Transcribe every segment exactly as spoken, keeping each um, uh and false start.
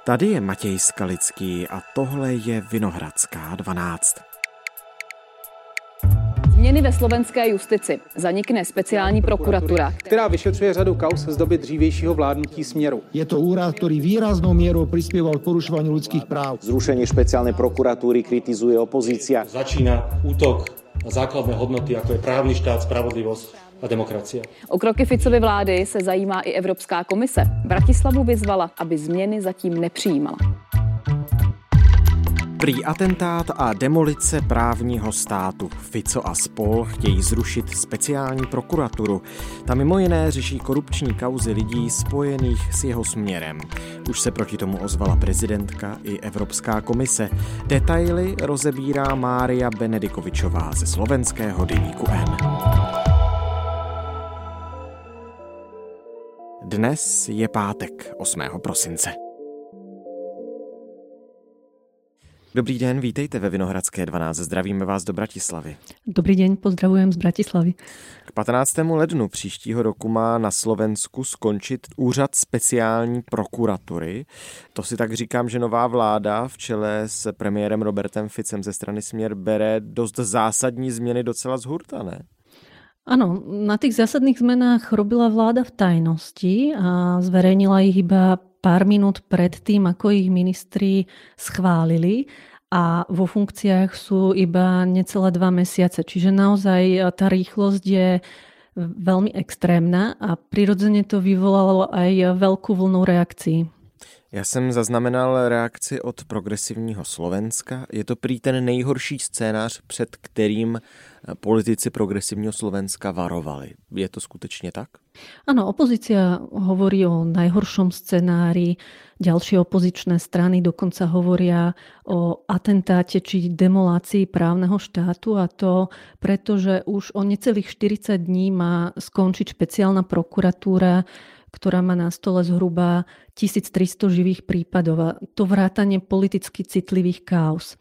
Tady je Matěj Skalický a tohle je Vinohradská dvanáct. Změny ve slovenské justici. Zanikne speciální prokuratura, která vyšetřuje řadu kauz z doby dřívějšího vládnutí Smeru. Je to úrad, ktorý výraznou mierou prispieval k porušovaniu ľudských práv. Zrušenie špeciálnej prokuratúry kritizuje opozícia. Začína útok na základné hodnoty, ako je právny štát, spravodlivosť a demokracia. O kroky Ficovy vlády se zajímá i Evropská komise. Bratislavu vyzvala, aby změny zatím nepřijímala. Prý atentát a demolice právního státu. Fico a spol chtějí zrušit speciální prokuraturu. Ta mimo jiné řeší korupční kauzy lidí spojených s jeho směrem. Už se proti tomu ozvala prezidentka i Evropská komise. Detaily rozebírá Mária Benedikovičová ze slovenského deníku N. Dnes je pátek, osmého prosince. Dobrý den, vítejte ve Vinohradské dvanáct. Zdravíme vás do Bratislavy. Dobrý deň, pozdravujem z Bratislavy. K patnáctému lednu příštího roku má na Slovensku skončit úřad speciální prokuratury. To si tak říkám, že nová vláda v čele s premiérem Robertem Ficem ze strany Smer bere dost zásadní změny docela z hurta, ne? Áno, na tých zásadných zmenách robila vláda v tajnosti a zverejnila ich iba pár minút pred tým, ako ich ministri schválili a vo funkciách sú iba necelé dva mesiace. Čiže naozaj tá rýchlosť je veľmi extrémna a prirodzene to vyvolalo aj veľkú vlnu reakcií. Já jsem zaznamenal reakci od Progresivního Slovenska. Je to prý ten nejhorší scénář, před kterým politici Progresivního Slovenska varovali. Je to skutečně tak? Áno, opozícia hovorí o najhoršom scenári, ďalšie opozičné strany dokonca hovoria o atentáte či demolácii právneho štátu, a to preto, že už o necelých štyridsať dní má skončiť špeciálna prokuratúra, ktorá má na stole zhruba tisíctristo živých prípadov, a to vrátane politicky citlivých káuz.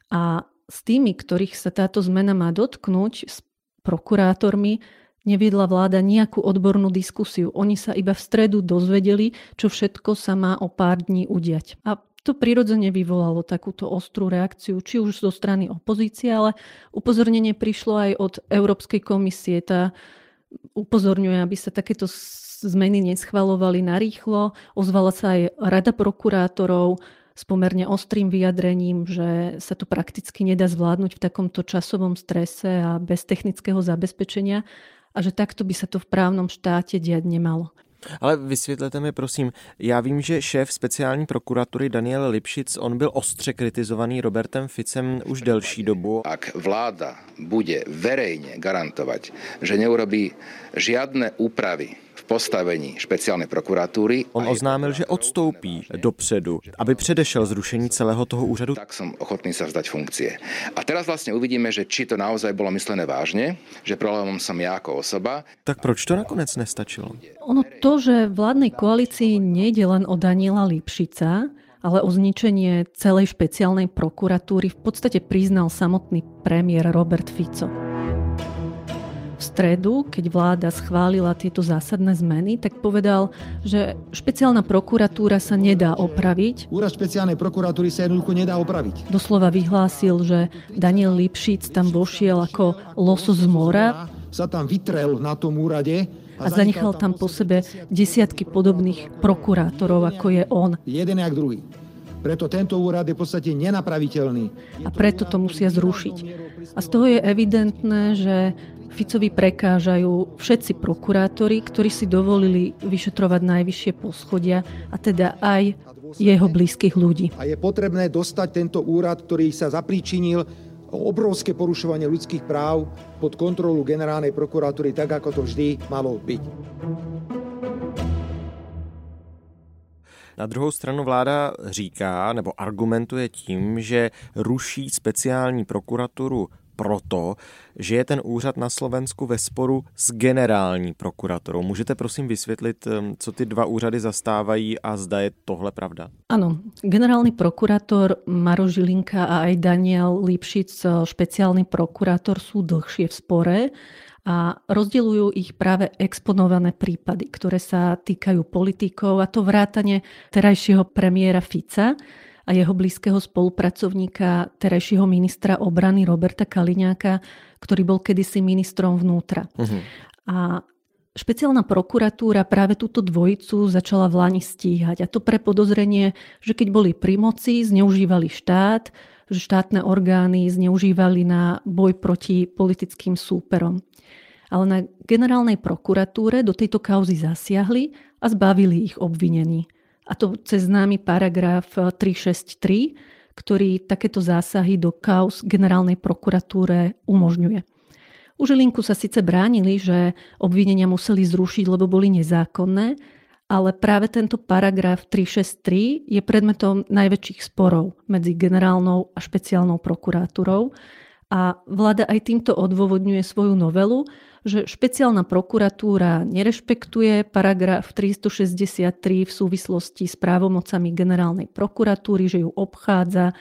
A s tými, ktorých sa táto zmena má dotknúť, s prokurátormi, neviedla vláda nejakú odbornú diskusiu. Oni sa iba v stredu dozvedeli, čo všetko sa má o pár dní udiať. A to prirodzene vyvolalo takúto ostrú reakciu, či už zo strany opozície, ale upozornenie prišlo aj od Európskej komisie. Tá upozorňuje, aby sa takéto zmeny neschvaľovali narýchlo. Ozvala sa aj Rada prokurátorov s pomerne ostrým vyjadrením, že sa to prakticky nedá zvládnuť v takomto časovom strese a bez technického zabezpečenia a že takto by sa to v právnom štáte diať nemalo. Ale vysvětlete mi prosím, já vím, že šéf speciální prokuratury Daniel Lipšic, on byl ostře kritizovaný Robertem Ficem už delší dobu. Ak vláda bude verejne garantovať, že neurobí žiadne úpravy v postavení špeciálnej prokuratúry. On oznámil, že odstoupí dopředu, aby předešel zrušení celého toho úřadu. Tak som ochotný sa vzdať funkcie. A teraz vlastne uvidíme, že či to naozaj bolo myslené vážne, že problémom som ja ako osoba. Tak proč to nakonec nestačilo? Ono to, že vládnej koalícii nejde len o Daniela Lipšica, ale o zničenie celej špeciálnej prokuratúry, v podstate priznal samotný premiér Robert Fico. V stredu, keď vláda schválila tieto zásadné zmeny, tak povedal, že špeciálna prokuratúra sa nedá opraviť. Úrad špeciálnej prokuratúry sa jednoducho nedá opraviť. Doslova vyhlásil, že Daniel Lipšic tam vošiel ako losos z mora. Sa tam vytrel na tom úrade a zanechal tam po sebe desiatky podobných prokurátorov, ako je on. Jeden jak druhý. Preto tento úrad je v podstate nenapraviteľný. A preto to musia zrušiť. A z toho je evidentné, že Ficovi prekážajú všetci prokurátori, ktorí si dovolili vyšetrovať najvyššie poschodia, a teda aj jeho blízkych ľudí. A je potrebné dostať tento úrad, ktorý sa zapríčinil o obrovské porušovanie ľudských práv, pod kontrolu generálnej prokuratúry, tak ako to vždy malo byť. Na druhou stranu vláda říká nebo argumentuje tím, že ruší speciální prokuraturu proto, že je ten úřad na Slovensku ve sporu s generální prokuratorou. Můžete prosím vysvětlit, co ty dva úřady zastávají a zda je tohle pravda? Áno, generálny prokurátor Maroš Žilinka a aj Daniel Lipšic, špeciálny prokurátor, sú dlhšie v spore a rozdeľujú ich práve exponované prípady, ktoré sa týkajú politikov, a to vrátane terajšieho premiéra Fica a jeho blízkeho spolupracovníka, terajšieho ministra obrany Roberta Kaliňáka, ktorý bol kedysi ministrom vnútra. Uh-huh. A špeciálna prokuratúra práve túto dvojicu začala v lani stíhať. A to pre podozrenie, že keď boli pri moci, zneužívali štát, že štátne orgány zneužívali na boj proti politickým súperom. Ale na generálnej prokuratúre do tejto kauzy zasiahli a zbavili ich obvinení. A to cez známy paragraf tristošesťdesiattri, ktorý takéto zásahy do kauz generálnej prokuratúre umožňuje. U Žilinku sa síce bránili, že obvinenia museli zrušiť, lebo boli nezákonné, ale práve tento paragraf tristošesťdesiattri je predmetom najväčších sporov medzi generálnou a špeciálnou prokuratúrou a vláda aj týmto odôvodňuje svoju novelu, že špeciálna prokuratúra nerešpektuje paragraf tristošesťdesiattri v súvislosti s právomocami generálnej prokuratúry, že ju obchádza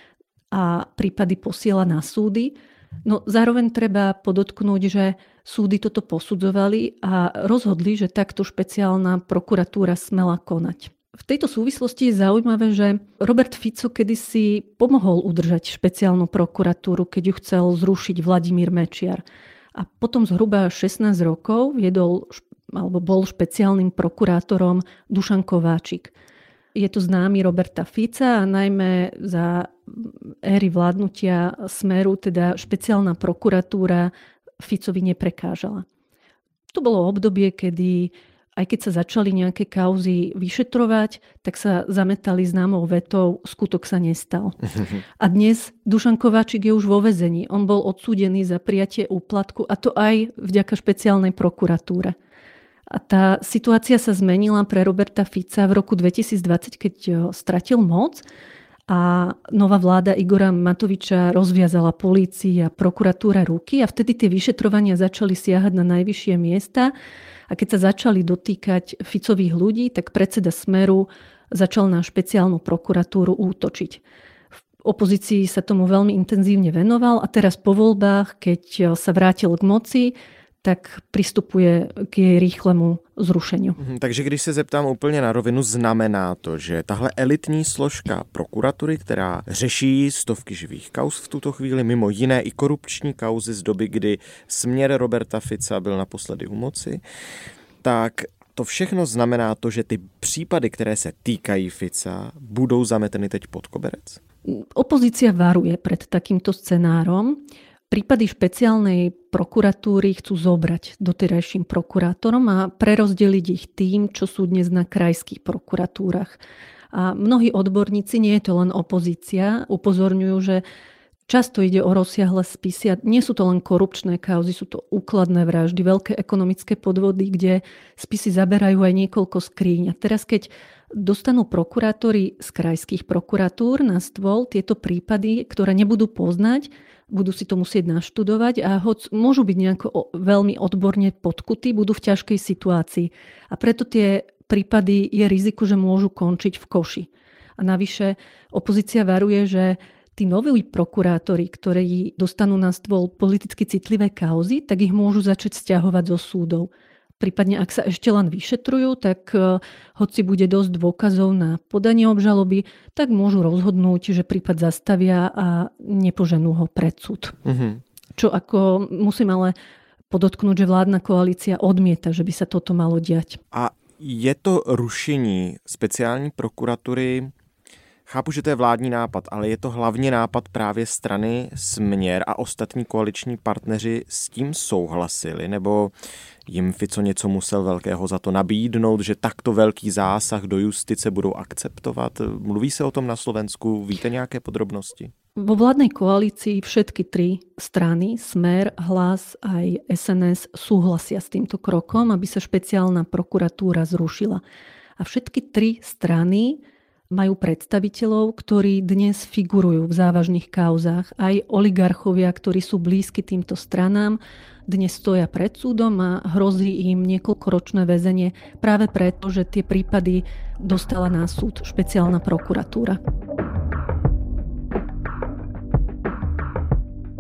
a prípady posiela na súdy. No zároveň treba podotknúť, že súdy toto posudzovali a rozhodli, že takto špeciálna prokuratúra smela konať. V tejto súvislosti je zaujímavé, že Robert Fico kedysi pomohol udržať špeciálnu prokuratúru, keď ju chcel zrušiť Vladimír Mečiar. A potom zhruba šestnásť rokov viedol, alebo bol špeciálnym prokurátorom Dušan Kováčik. Je to známy Roberta Fica a najmä za éry vládnutia Smeru, teda špeciálna prokuratúra Ficovi neprekážala. To bolo obdobie, kedy aj keď sa začali nejaké kauzy vyšetrovať, tak sa zametali známou vetou, skutok sa nestal. A dnes Dušan Kováčik je už vo väzení. On bol odsúdený za prijatie úplatku, a to aj vďaka špeciálnej prokuratúre. A tá situácia sa zmenila pre Roberta Fica v roku dvetisícdvadsať, keď stratil moc a nová vláda Igora Matoviča rozviazala polícii a prokuratúra ruky a vtedy tie vyšetrovania začali siahať na najvyššie miesta. A keď sa začali dotýkať Ficových ľudí, tak predseda Smeru začal na špeciálnu prokuratúru útočiť. V opozícii sa tomu veľmi intenzívne venoval a teraz po voľbách, keď sa vrátil k moci, tak pristupuje k jej rýchlemu zrušeniu. Takže když se zeptám úplně na rovinu, znamená to, že tahle elitní složka prokuratury, která řeší stovky živých kauz v tuto chvíli, mimo jiné i korupční kauzy z doby, kdy směr Roberta Fica byl naposledy u moci, tak to všechno znamená to, že ty případy, které se týkají Fica, budou zameteny teď pod koberec? Opozícia varuje pred takýmto scenárom. Prípady špeciálnej prokuratúry chcú zobrať doterajším prokurátorom a prerozdeliť ich tým, čo sú dnes na krajských prokuratúrach. A mnohí odborníci, nie je to len opozícia, upozorňujú, že často ide o rozsiahle spisy a nie sú to len korupčné kauzy, sú to úkladné vraždy, veľké ekonomické podvody, kde spisy zaberajú aj niekoľko skríň. A teraz, keď dostanú prokurátori z krajských prokuratúr na stôl tieto prípady, ktoré nebudú poznať, budú si to musieť naštudovať a hoď môžu byť nejako veľmi odborne podkutí, budú v ťažkej situácii. A preto tie prípady je riziko, že môžu končiť v koši. A navyše opozícia varuje, že tí noví prokurátori, ktorí dostanú na stôl politicky citlivé kauzy, tak ich môžu začať sťahovať zo súdov. Prípadne, ak sa ešte len vyšetrujú, tak hoci bude dosť dôkazov na podanie obžaloby, tak môžu rozhodnúť, že prípad zastavia a nepoženú ho pred súd. Mm-hmm. Čo ako musím ale podotknúť, že vládna koalícia odmieta, že by sa toto malo diať. A je to rušení speciální prokuratury, chápu, že to je vládní nápad, ale je to hlavně nápad právě strany Směr a ostatní koaliční partneři s tím souhlasili, nebo jim Fico něco musel velkého za to nabídnout, že takto velký zásah do justice budou akceptovat? Mluví se o tom na Slovensku? Víte nějaké podrobnosti? Vo vládnej koalícii všetky tri strany, Smer, Hlas aj es en es, súhlasia s týmto krokom, aby sa špeciálna prokuratúra zrušila. A všetky tri strany majú predstaviteľov, ktorí dnes figurujú v závažných kauzách. Aj oligarchovia, ktorí sú blízky týmto stranám, dnes stoja pred súdom a hrozí im niekoľkoročné väzenie práve preto, že tie prípady dostala na súd špeciálna prokuratúra.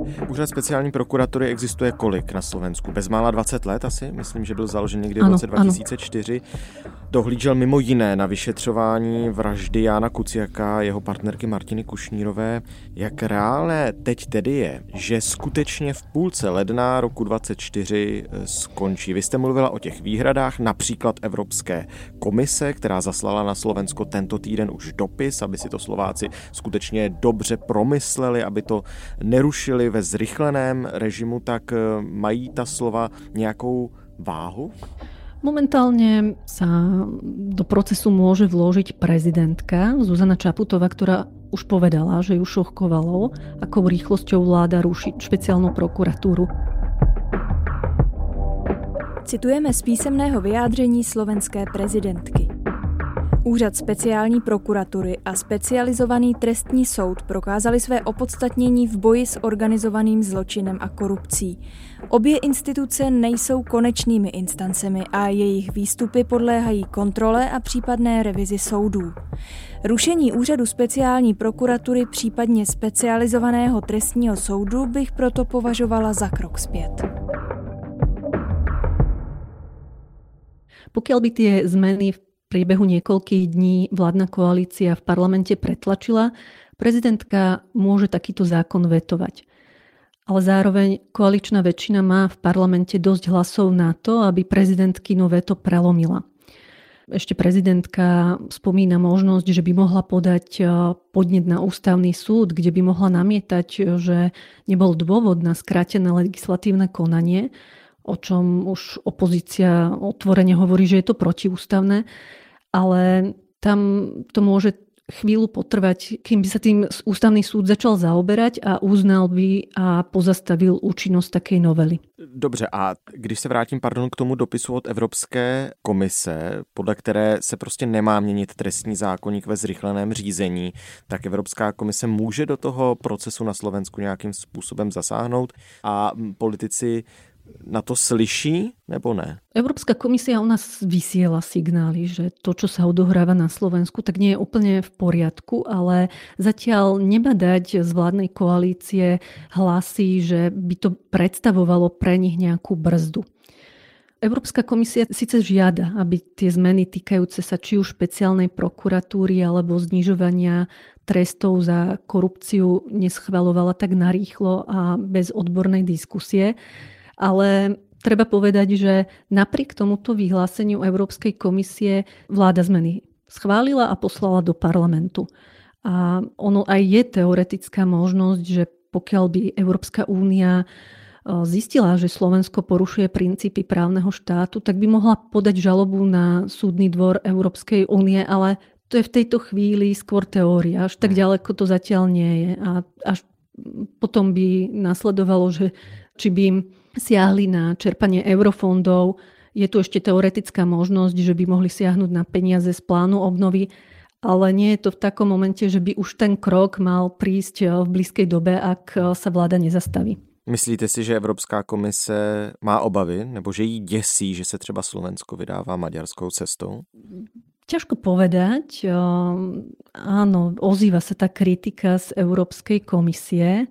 Úřad speciální prokuratury existuje kolik na Slovensku? Bezmála dvacet let asi? Myslím, že byl založen někdy v ano, roce dva tisíce čtyři. Ano. Dohlížel mimo jiné na vyšetřování vraždy Jána Kuciaka a jeho partnerky Martiny Kušnírové. Jak reálné teď tedy je, že skutečně v půlce ledna roku dvacet čtyři skončí? Vy jste mluvila o těch výhradách, například Evropské komise, která zaslala na Slovensko tento týden už dopis, aby si to Slováci skutečně dobře promysleli, aby to nerušili ve zrychleném režimu, tak mají ta slova nějakou váhu? Momentálne sa do procesu môže vložiť prezidentka Zuzana Čaputová, ktorá už povedala, že ju šokovalo, akou rýchlosťou vláda ruší špeciálnu prokuratúru. Citujeme z písemného vyjádření slovenské prezidentky. Úřad speciální prokuratury a specializovaný trestní soud prokázali své opodstatnění v boji s organizovaným zločinem a korupcí. Obě instituce nejsou konečnými instancemi a jejich výstupy podléhají kontrole a případné revizi soudů. Rušení úřadu speciální prokuratury, případně specializovaného trestního soudu, bych proto považovala za krok zpět. Pokiaľ by tie zmeny v priebehu niekoľkých dní vládna koalícia v parlamente pretlačila, prezidentka môže takýto zákon vetovať. Ale zároveň koaličná väčšina má v parlamente dosť hlasov na to, aby prezidentkino veto prelomila. Ešte prezidentka spomína možnosť, že by mohla podať podnet na ústavný súd, kde by mohla namietať, že nebol dôvod na skrátené legislatívne konanie, o čom už opozícia otvorene hovorí, že je to protiústavné, ale tam to môže chvíľu potrvať, kým by sa tým ústavný súd začal zaoberať a uznal by a pozastavil účinnosť takej novely. Dobře, a když se vrátím pardon, k tomu dopisu od Evropské komise, podle které se prostě nemá měnit trestní zákoník ve zrychleném řízení, tak Evropská komise může do toho procesu na Slovensku nějakým způsobem zasáhnout a politici na to slyší, nebo ne? Európska komisia u nás vysiela signály, že to, čo sa odohráva na Slovensku, tak nie je úplne v poriadku, ale zatiaľ nebadať z vládnej koalície hlasy, že by to predstavovalo pre nich nejakú brzdu. Európska komisia síce žiada, aby tie zmeny týkajúce sa či už špeciálnej prokuratúry alebo znižovania trestov za korupciu neschvaľovala tak narýchlo a bez odbornej diskusie. Ale treba povedať, že napriek tomuto vyhláseniu Európskej komisie vláda zmeny schválila a poslala do parlamentu. A ono aj je teoretická možnosť, že pokiaľ by Európska únia zistila, že Slovensko porušuje princípy právneho štátu, tak by mohla podať žalobu na súdny dvor Európskej únie, ale to je v tejto chvíli skôr teória. Až tak ďaleko to zatiaľ nie je. A až potom by nasledovalo, že či by im siahli na čerpanie eurofondov. Je tu ešte teoretická možnosť, že by mohli siahnuť na peniaze z plánu obnovy, ale nie je to v takom momente, že by už ten krok mal prísť v blízkej dobe, ak sa vláda nezastaví. Myslíte si, že Evropská komise má obavy, nebo že jí děsí, že se třeba Slovensko vydává maďarskou cestou? Ťažko povedať. Áno, ozýva sa tá kritika z Európskej komisie,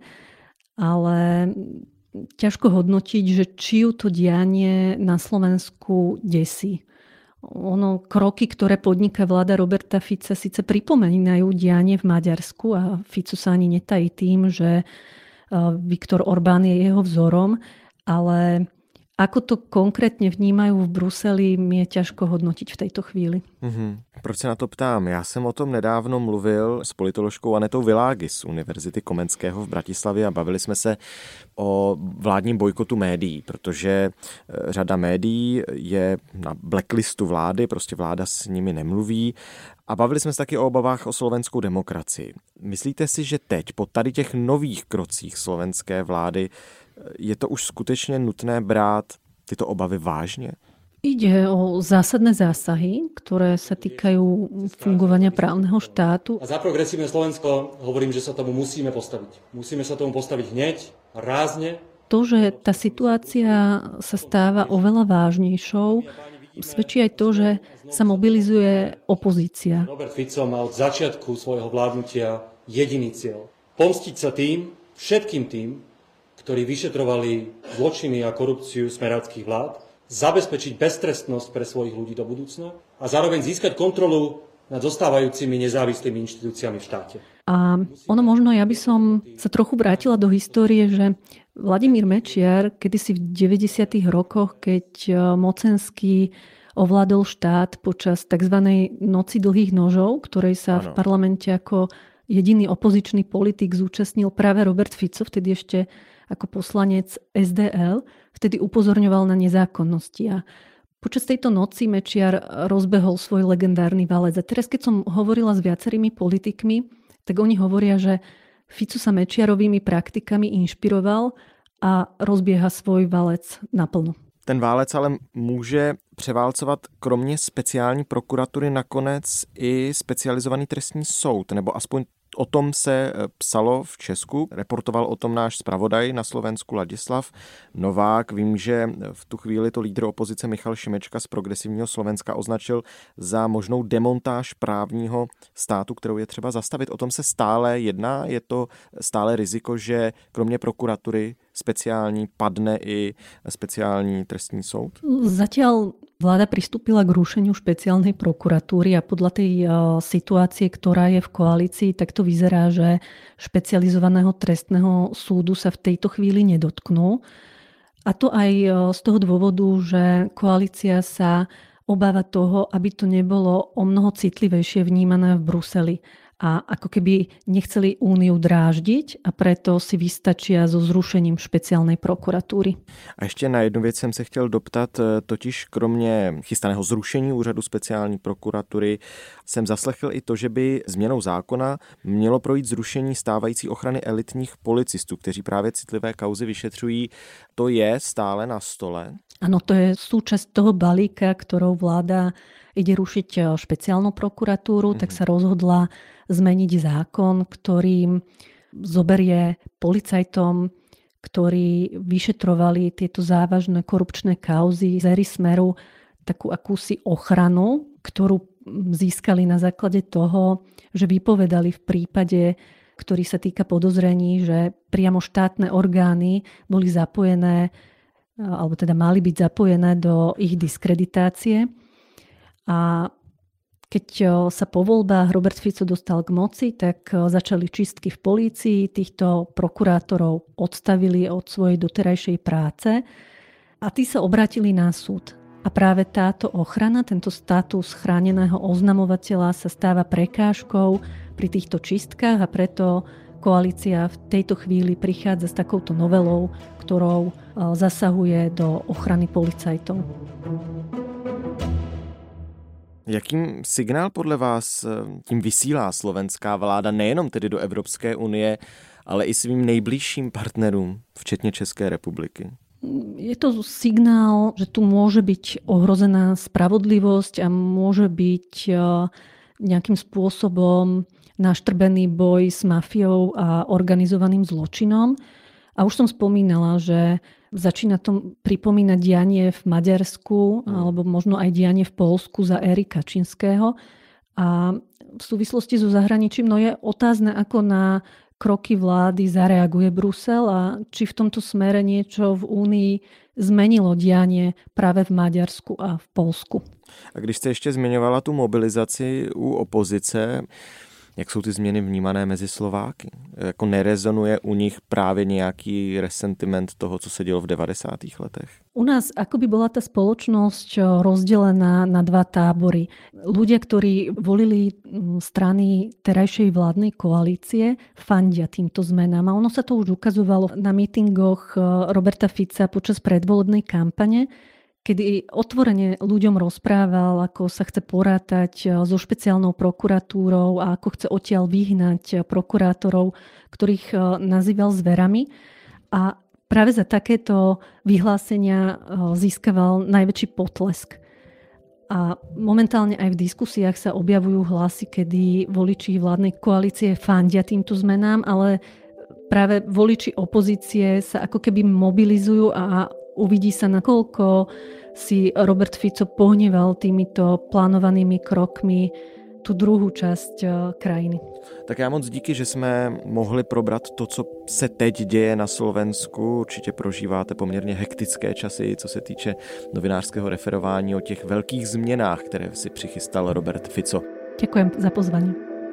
ale ťažko hodnotiť, že či ju to dianie na Slovensku desí. Ono, kroky, ktoré podniká vláda Roberta Fica, síce pripomínajú dianie v Maďarsku a Fico sa ani netají tým, že Viktor Orbán je jeho vzorom, ale ako to konkrétně vnímajú v Bruseli, mi je ťažko hodnotiť v tejto chvíli. Mm-hmm. Proč se na to ptám? Já jsem o tom nedávno mluvil s politoložkou Anetou Világy z Univerzity Komenského v Bratislavě a bavili jsme se o vládním bojkotu médií, protože řada médií je na blacklistu vlády, prostě vláda s nimi nemluví. A bavili jsme se taky o obavách o slovenskou demokracii. Myslíte si, že teď po tady těch nových krocích slovenské vlády je to už skutečně nutné brát tyto obavy vážně? Ide o zásadné zásahy, ktoré sa týkajú fungovania právneho štátu. A za progresívne Slovensko hovorím, že sa tomu musíme postaviť. Musíme sa tomu postaviť hneď, rázne. To, že tá situácia sa stáva oveľa vážnejšou, svedčí aj to, že sa mobilizuje opozícia. Robert Fico mal od začiatku svojho vládnutia jediný cieľ. Pomstiť sa tým, všetkým tým, ktorí vyšetrovali zločiny a korupciu smeráckých vlád, zabezpečiť beztrestnosť pre svojich ľudí do budúcna a zároveň získať kontrolu nad zostávajúcimi nezávislými inštitúciami v štáte. A ono možno, ja by som sa trochu vrátila do histórie, že Vladimír Mečiar kedysi v deväťdesiatych rokoch, keď mocenský ovládol štát počas tzv. Noci dlhých nožov, ktorej sa ano. v parlamente ako jediný opozičný politik zúčastnil práve Robert Fico, vtedy ešte ako poslanec es dé el, vtedy upozorňoval na nezákonnosti. A počas tejto noci Mečiar rozbehol svoj legendárny valec. A teraz, keď som hovorila s viacerými politikmi, tak oni hovoria, že Fico sa Mečiarovými praktikami inšpiroval a rozbieha svoj valec naplno. Ten válec ale může převálcovat kromě speciální prokuratury nakonec i specializovaný trestní soud, nebo aspoň o tom se psalo v Česku. Reportoval o tom náš zpravodaj na Slovensku Ladislav Novák. Vím, že v tu chvíli to lídr opozice Michal Šimečka z Progresivního Slovenska označil za možnou demontáž právního státu, kterou je třeba zastavit. O tom se stále jedná. Je to stále riziko, že kromě prokuratury speciální padne i speciální trestní soud? Zatiaľ vláda pristúpila k rušeniu špeciálnej prokuratúry a podľa tej situácie, ktorá je v koalícii, tak to vyzerá, že špecializovaného trestného súdu sa v tejto chvíli nedotknú. A to aj z toho dôvodu, že koalícia sa obáva toho, aby to nebolo o mnoho citlivejšie vnímané v Bruseli. A ako keby nechceli Úniu dráždiť a preto si vystačia so zrušením špeciálnej prokuratúry. A ještě na jednu věc jsem se chtěl doptat, totiž kromě chystaného zrušení úřadu speciální prokuratury jsem zaslechl i to, že by změnou zákona mělo projít zrušení stávající ochrany elitních policistů, kteří právě citlivé kauzy vyšetřují. To je stále na stole? Áno, to je súčasť toho balíka, ktorou vláda ide rušiť špeciálnu prokuratúru, mm. tak sa rozhodla zmeniť zákon, ktorým zoberie policajtom, ktorí vyšetrovali tieto závažné korupčné kauzy z éry Smeru, takú akúsi ochranu, ktorú získali na základe toho, že vypovedali v prípade, ktorý sa týka podozrení, že priamo štátne orgány boli zapojené alebo teda mali byť zapojené do ich diskreditácie. A keď sa po voľbách Robert Fico dostal k moci, tak začali čistky v polícii, týchto prokurátorov odstavili od svojej doterajšej práce a tí sa obrátili na súd. A práve táto ochrana, tento status chráneného oznamovateľa sa stáva prekážkou pri týchto čistkách a preto koalícia v tejto chvíli prichádza s takouto novelou, ktorou zasahuje do ochrany policajtov. Jakým signál podle vás tím vysílá slovenská vláda nejenom tedy do Evropské unie, ale i svým nejbližším partnerům, včetně České republiky? Je to signál, že tu môže byť ohrozená spravodlivosť a môže byť nejakým spôsobom naštrbený boj s mafiou a organizovaným zločinom. A už som spomínala, že začína to pripomínať dianie v Maďarsku alebo možno aj dianie v Poľsku za éry Kačinského. A v súvislosti so zahraničím no je otázne, ako na kroky vlády zareaguje Brusel a či v tomto smere niečo v Únii zmenilo dianie práve v Maďarsku a v Poľsku. A když jste ještě zmiňovala tu mobilizaci u opozice, jak jsou ty změny vnímané mezi Slováky? Jako nerezonuje u nich právě nějaký resentiment toho, co se dělo v devadesátých letech? U nás akoby bola tá spoločnosť rozdelená na dva tábory. Ľudia, ktorí volili strany terajšej vládnej koalície, fandia týmto zmenám. A ono sa to už ukazovalo na mítingoch Roberta Fica počas predvolebnej kampane, kedy otvorene ľuďom rozprával, ako sa chce porátať so špeciálnou prokuratúrou a ako chce odtiaľ vyhnať prokurátorov, ktorých nazýval zverami. A práve za takéto vyhlásenia získaval najväčší potlesk. A momentálne aj v diskusiách sa objavujú hlasy, kedy voliči vládnej koalície fandia týmto zmenám, ale práve voliči opozície sa ako keby mobilizujú a uvidí sa, nakoľko si Robert Fico pohneval týmito plánovanými krokmi tu druhú časť krajiny. Tak já moc díky, že jsme mohli probrat to, co se teď děje na Slovensku. Určitě prožíváte poměrně hektické časy, co se týče novinářského referování o těch velkých změnách, které si přichystal Robert Fico. Ďakujem za pozvání.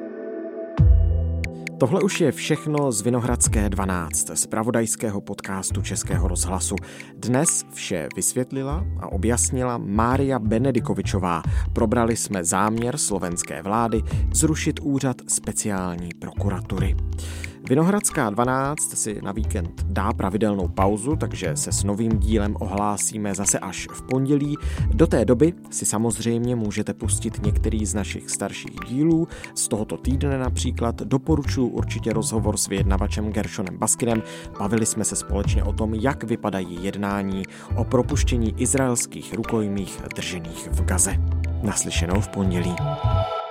Tohle už je všechno z Vinohradské dvanáct, z pravodajského podcastu Českého rozhlasu. Dnes vše vysvětlila a objasnila Mária Benedikovičová. Probrali jsme záměr slovenské vlády zrušit úřad speciální prokuratury. Vinohradská dvanáct si na víkend dá pravidelnou pauzu, takže se s novým dílem ohlásíme zase až v pondělí. Do té doby si samozřejmě můžete pustit některý z našich starších dílů. Z tohoto týdne například doporučuji určitě rozhovor s vyjednavačem Gershonem Baskinem. Bavili jsme se společně o tom, jak vypadají jednání o propuštění izraelských rukojmích držených v Gaze. Naslyšenou v pondělí.